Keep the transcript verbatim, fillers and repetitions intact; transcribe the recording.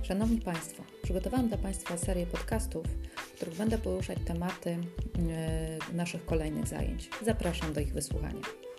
Szanowni Państwo, przygotowałam dla Państwa serię podcastów, w których będę poruszać tematy yy, naszych kolejnych zajęć. Zapraszam do ich wysłuchania.